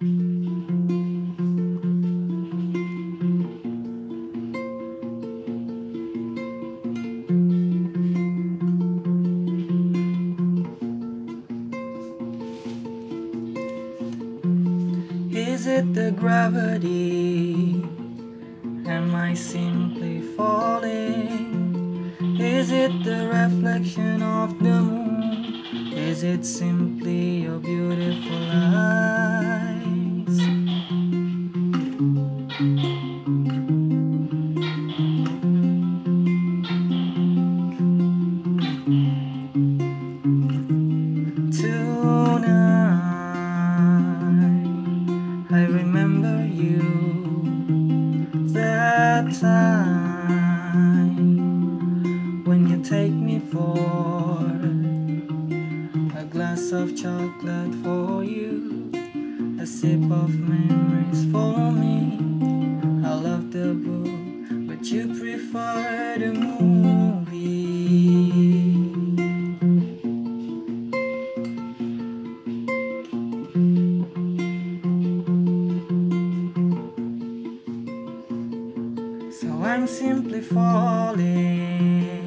Is it the gravity? Am I simply falling? Is it the reflection of the moon? Is it simply your beautiful eyes? Tonight I remember you, that time when you take me for a glass of chocolate for you, a sip of memories for me. I love the book, but you prefer the movie. So I'm simply falling.